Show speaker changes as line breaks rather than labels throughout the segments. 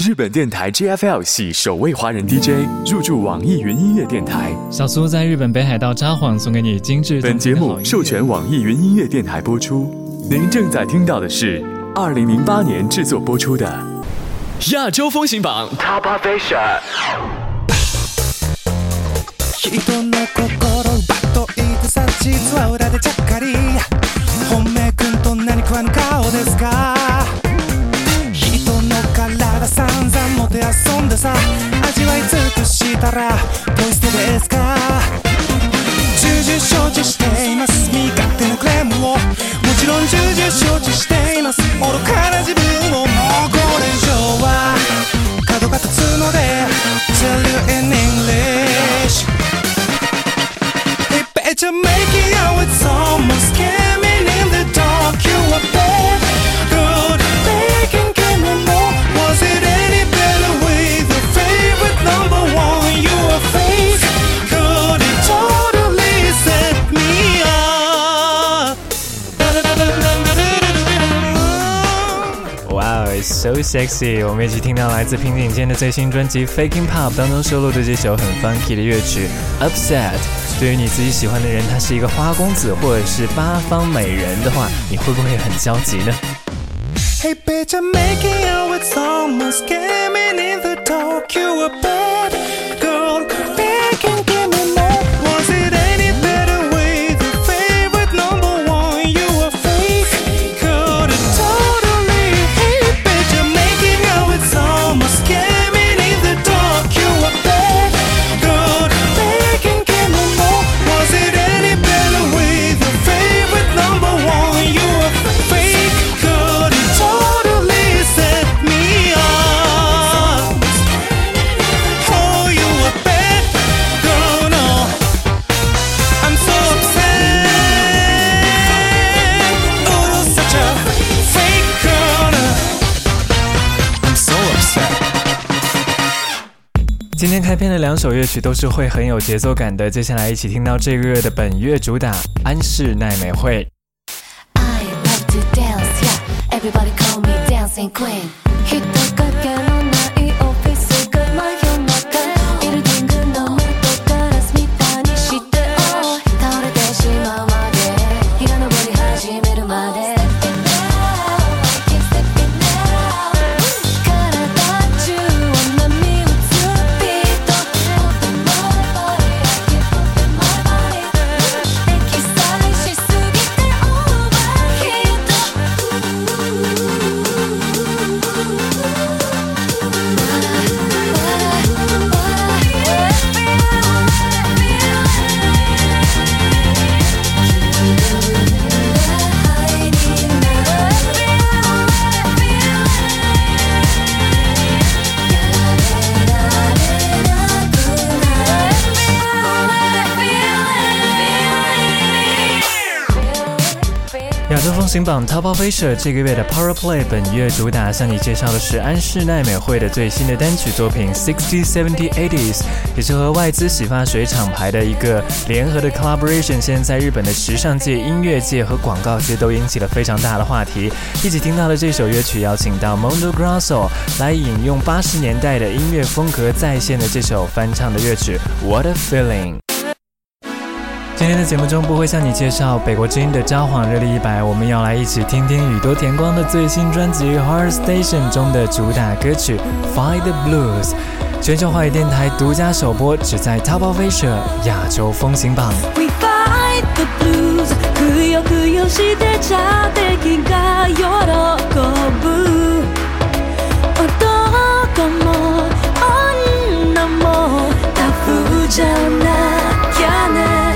日本电台 JFL 系首位华人 DJ 入驻网易云音乐电台。
小苏在日本北海道札幌送给你精致。
本节目授权网易云音乐电台播出。您正在听到的是2008年制作播出的亚洲风行榜 Top Asia。
人の心奪っといてさ、実は裏でちゃっかり本命くんと何食わぬ顔ですか。人の体散々もてあそんでさ、味わい尽くしたらポイ捨てですか。重々承知しています、身勝手なクレームをもちろん重々承知しています。愚かな自分をもうこれ以上は角が立つので Tell you in English Better make it out, it's almost scamming in the dark. You are bad, good, they can give me more. Was it any better with your favorite number one? You are fake, good, it totally set me up.
Wow, it's so sexy. 我们一起听到来自平井坚的最新专辑 Faking Pop 当中收录的这首很 funky 的乐曲 Upset。对于你自己喜欢的人，他是一个花公子或者是八方美人的话，你会不会很焦急呢？
Hey bitch, I'm making out, it's almost scamming in the dark. You are bad, girl, they can give me more. Was it any better with your favorite number one? You are fake, good, totally. Hey bitch, I'm making out, it's almost scamming in the dark. You are bad, good, they can give me more. Was it any better with your favorite number one? You are fake, good, totally set me up. Oh, you are bad, girl, no. I'm so upset. Oh, such a fake girl. I'm so upset.
今天开篇的两首乐曲都是会很有节奏感的，接下来一起听到这个月的本月主打安室奈美惠。
I love to dance, yeah. Everybody call me dancing queen. 人影のないオフィス街真夜中ビルディングの窓ガラスみたいにして倒れてしまうまで日が昇り始めるまで体中を波打つビートエキサイしすぎてオーバーヒート
亚洲风行榜 Top Asia 这个月的 Power Play 本月主打向你介绍的是安室奈美惠的最新的单曲作品 60, 70, 80s， 也是和外资洗发水厂牌的一个联合的 collaboration， 现在在日本的时尚界、音乐界和广告界都引起了非常大的话题。一起听到的这首乐曲邀请到 Mondo Grosso 来引用80年代的音乐风格再现的这首翻唱的乐曲 What a Feeling。今天的节目中不会向你介绍北国之音的札幌热力100，我们要来一起听听宇多田光的最新专辑 Heart Station 中的主打歌曲 Fight the Blues， 全球华语电台独家首播，只在 Top Asia 亚洲风行榜。
We fight the blues くよくよして茶敵が喜ぶ男も女もタフじゃなきゃね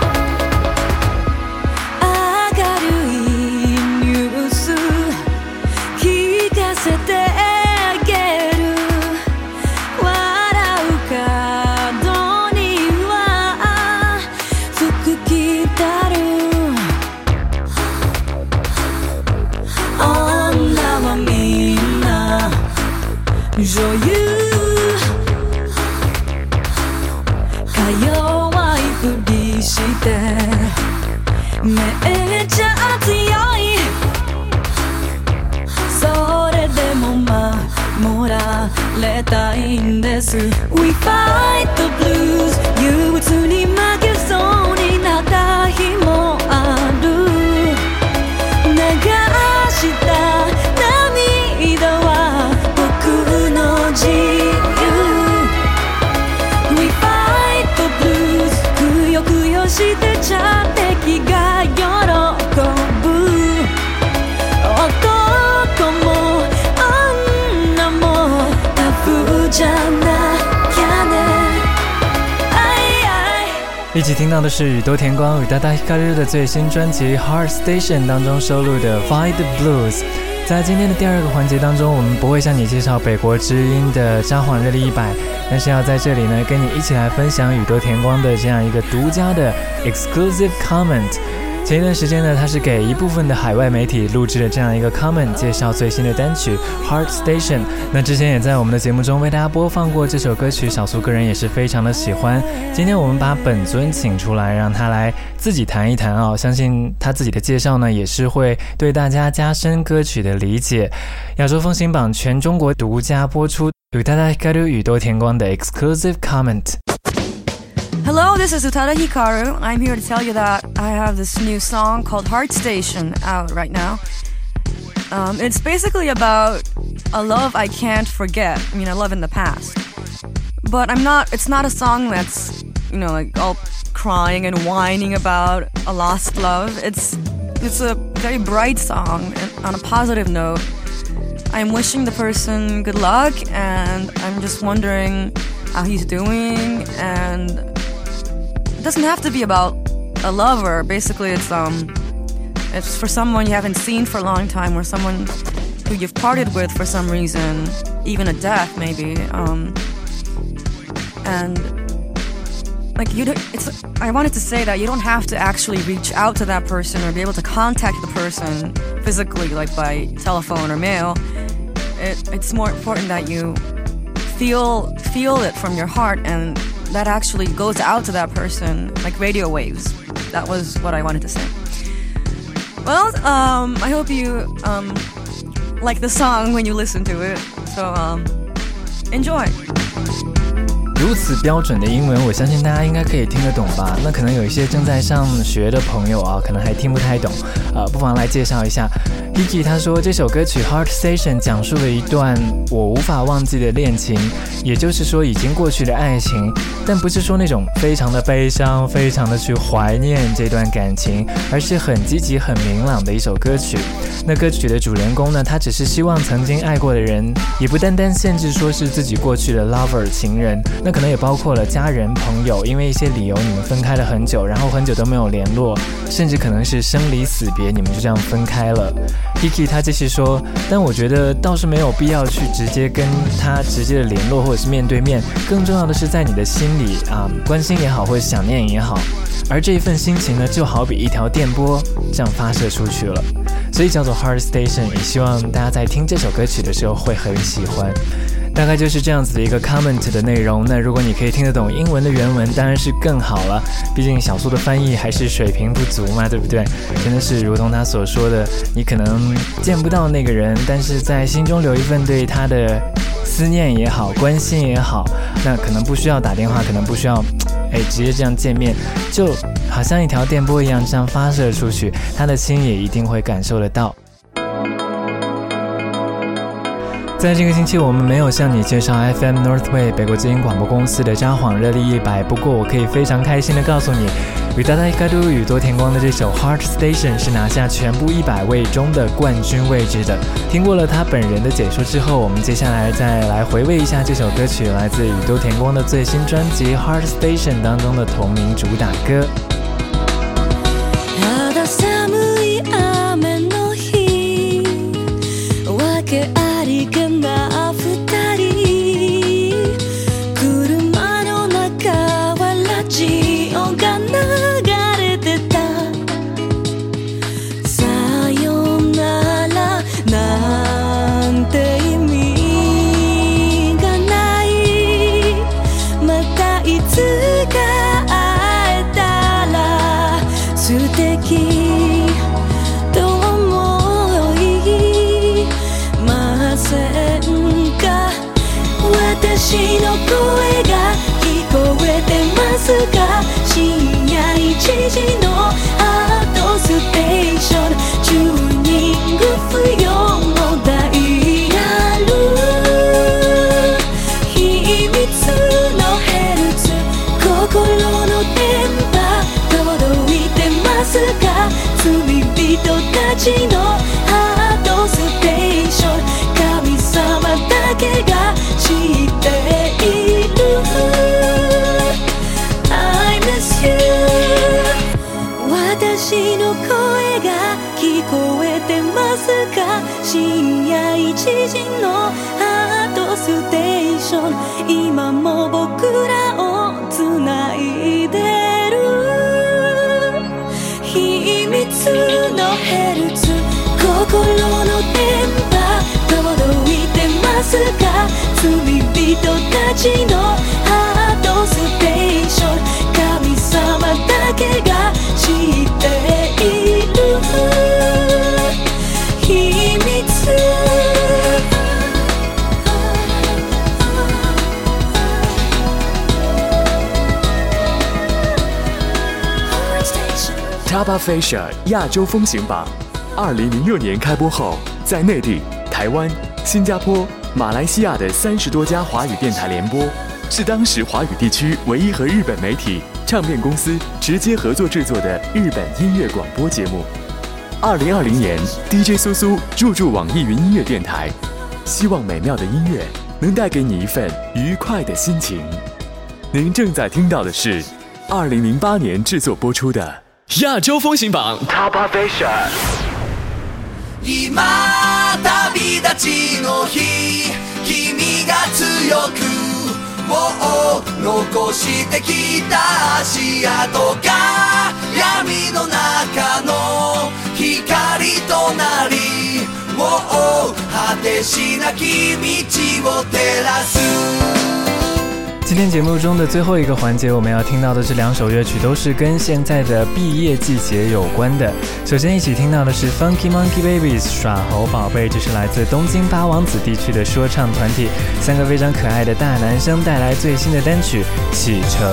女優か弱いふりしてめっちゃ強いそれでも
守られたいんです We fight the blues 憂鬱に負けそうになった日もある流した涙は僕の自由 We fight the blues くよくよしてちゃ敵が喜ぶ男も女もタフじゃなきゃね
一起听到的是宇多田光与大大Hikaru的最新专辑 Heart Station 当中收录的 Fight the Blues。在今天的第二个环节当中，我们不会向你介绍北国知音的札幌热力100，但是要在这里呢跟你一起来分享宇多田光的这样一个独家的 exclusive comment。前一段时间呢，他是给一部分的海外媒体录制了这样一个 comment， 介绍最新的单曲 Heart Station。那之前也在我们的节目中为大家播放过这首歌曲，小苏个人也是非常的喜欢。今天我们把本尊请出来，让他来自己谈一谈啊，相信他自己的介绍呢，也是会对大家加深歌曲的理解。亚洲风行榜全中国独家播出，宇多田光宇多田光的 exclusive comment。Hello,
this is Utada Hikaru. I'm here to tell you that I have this new song called Heart Station out right now. It's basically about a love I can't forget. I mean, a love in the past. But it's not a song that's, like all crying and whining about a lost love. It's a very bright song on a positive note. I'm wishing the person good luck and I'm just wondering how he's doing, and it doesn't have to be about a lover. Basically, it's for someone you haven't seen for a long time, or someone who you've parted with for some reason, even a death maybe. And like I wanted to say that you don't have to actually reach out to that person or be able to contact the person physically, like by telephone or mail. It's more important that you feel it from your heart, and that actually goes out to that person like radio waves. That was what I wanted to say. Well, I hope you like the song when you listen to it. So enjoy.
如此标准的英文，我相信大家应该可以听得懂吧？那可能有一些正在上学的朋友啊，可能还听不太懂，不妨来介绍一下。Hiki 他说，这首歌曲 Heart Station 讲述了一段我无法忘记的恋情，也就是说已经过去的爱情，但不是说那种非常的悲伤，非常的去怀念这段感情，而是很积极、很明朗的一首歌曲。那歌曲的主人公呢，他只是希望曾经爱过的人，也不单单限制说是自己过去的 lover 情人，那可能也包括了家人、朋友，因为一些理由你们分开了很久，然后很久都没有联络，甚至可能是生离死别，你们就这样分开了。Hiki 他继续说，但我觉得倒是没有必要去直接跟他直接的联络，或者是面对面，更重要的是在你的心里关心也好，或者想念也好，而这一份心情呢，就好比一条电波这样发射出去了，所以叫做 Heart Station， 也希望大家在听这首歌曲的时候会很喜欢。大概就是这样子的一个 comment 的内容。那如果你可以听得懂英文的原文，当然是更好了，毕竟小苏的翻译还是水平不足嘛，对不对？真的是如同他所说的，你可能见不到那个人，但是在心中留一份对他的思念也好，关心也好，那可能不需要打电话，可能不需要直接这样见面，就好像一条电波一样这样发射出去，他的心也一定会感受得到。在这个星期我们没有向你介绍 FM Northway 北国之音广播公司的札幌热力100，不过我可以非常开心的告诉你，宇多田光宇多田光的这首 Heart Station 是拿下全部100位中的冠军位置的。听过了他本人的解说之后，我们接下来再来回味一下这首歌曲，来自宇多田光的最新专辑 Heart Station 当中的同名主打歌。
いつか会えたら
私の声が聞こえてますか深夜1時のハートステーションチューニング不要のダイヤル秘密のヘルツ心の電波届いてますか罪人たちのハートステーション神様だけが知っている I miss you 私の声が聞こえてますか深夜1時のハートステーション今も僕らをつないでる秘密のヘルツ心の電波届いてますか罪人たちのハートステーション神様だけが知っている秘密
Top Asia 亚洲风行榜，2006年开播后，在内地、台湾、新加坡、马来西亚的30多家华语电台联播，是当时华语地区唯一和日本媒体唱片公司直接合作制作的日本音乐广播节目。2020年 ，DJ 苏苏入驻网易云音乐电台，希望美妙的音乐能带给你一份愉快的心情。您正在听到的是2008年制作播出的亚洲风行榜 Top Asia。
今旅立ちの日君が強くを残してきた足跡が闇の中の光となり果てしなき道を照らす。
今天节目中的最后一个环节，我们要听到的这2首乐曲都是跟现在的毕业季节有关的。首先一起听到的是 Funky Monkey Babies 耍猴宝贝，这是来自东京八王子地区的说唱团体，3个非常可爱的大男生带来最新的单曲《启程》。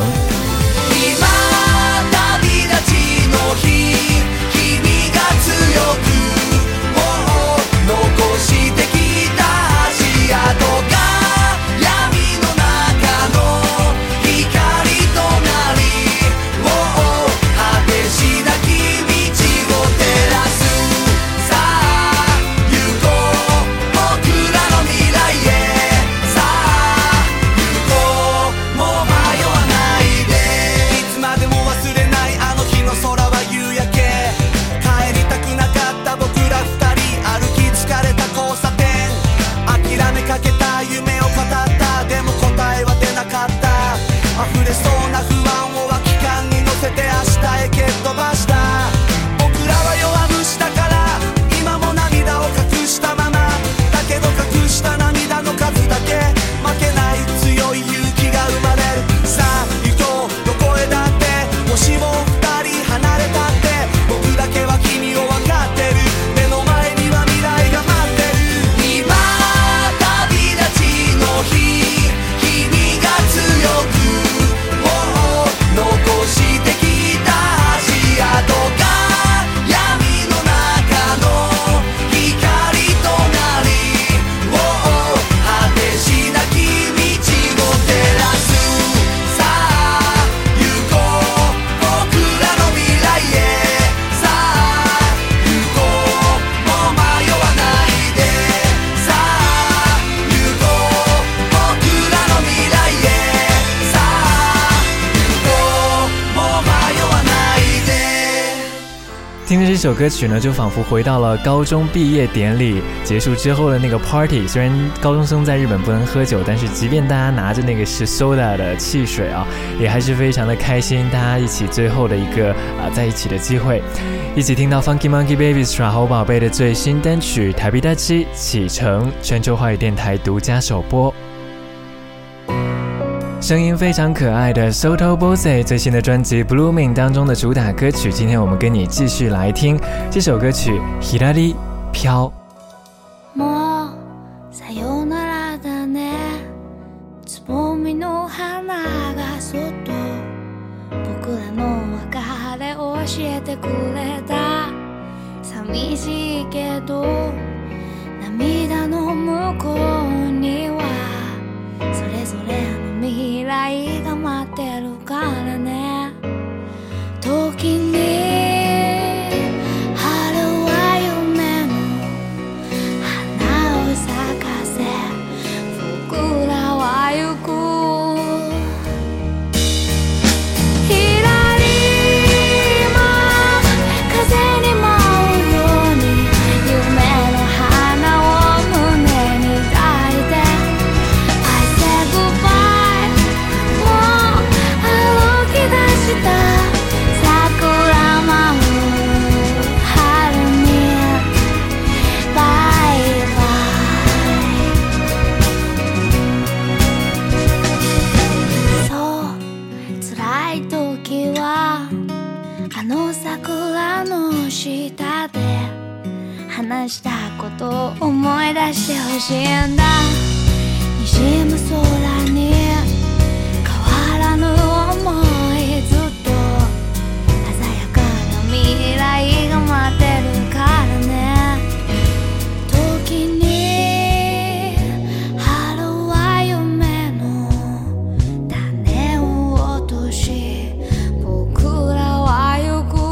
听着这首歌曲呢，就仿佛回到了高中毕业典礼结束之后的那个 party。虽然高中生在日本不能喝酒，但是即便大家拿着那个是 soda 的汽水啊，也还是非常的开心。大家一起最后的一个在一起的机会，一起听到 Funky Monkey Babies 耍猴宝贝的最新单曲《旅立ち启程》，全球华语电台独家首播。声音非常可爱的 Soto Bose 最新的专辑 Blooming 当中的主打歌曲，今天我们跟你继续来听这首歌曲左飘。
もうさよならだねつぼえてくれた寂しいけど涙の向こうにはそれぞれの未来が待ってるからね時に春は夢の花を咲かせ僕らは行く話したことを思い出してほしいんだ滲む空に変わらぬ想いずっと鮮やかな未来が待ってるからね時に春は夢の種を落とし僕らは行く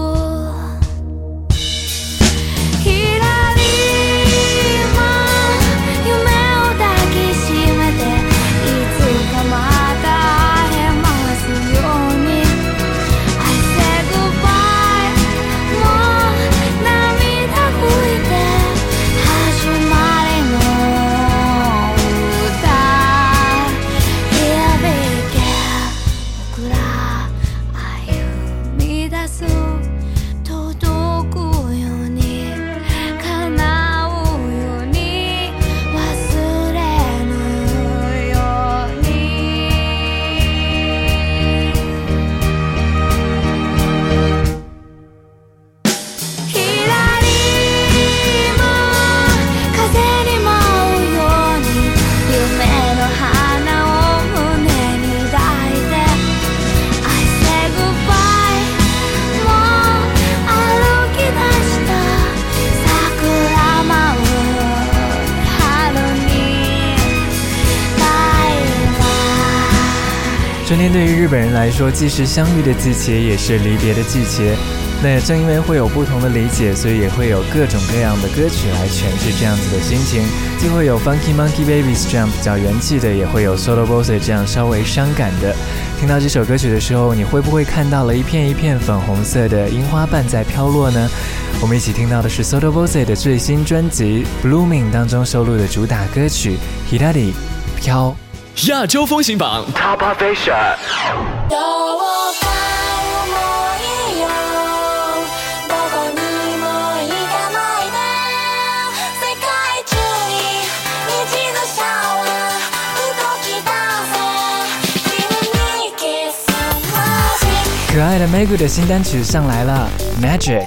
春天对于日本人来说，既是相遇的季节，也是离别的季节。那也正因为会有不同的理解，所以也会有各种各样的歌曲来诠释这样子的心情。既会有 Funky Monkey Babies 这样比较元气的，也会有 Soto Voce 这样稍微伤感的。听到这首歌曲的时候，你会不会看到了一片一片粉红色的樱花瓣在飘落呢？我们一起听到的是 Soto Voce 的最新专辑 Blooming 当中收录的主打歌曲 Hirari 飘。
亚洲风行榜 Top Asia。
可爱的 Megu 的新单曲上来了 Magic。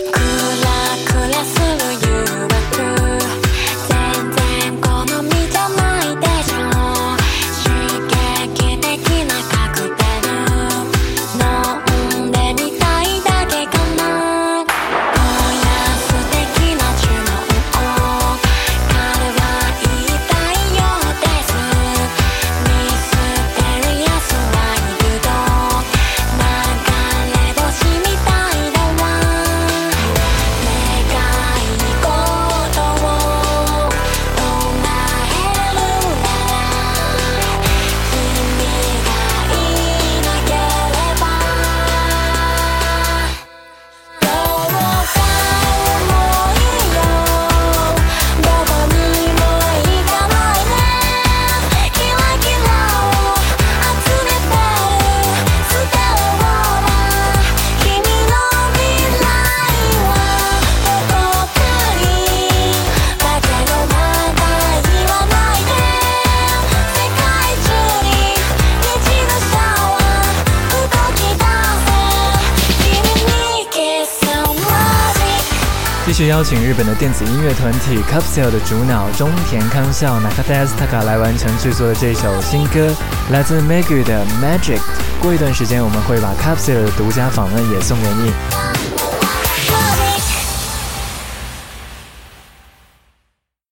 继续邀请日本的电子音乐团体 Capsule 的主脑中田康孝 Nakata Taka 来完成制作的这首新歌，来自 Megu 的 Magic。过一段时间我们会把 Capsule 的独家访问也送给你。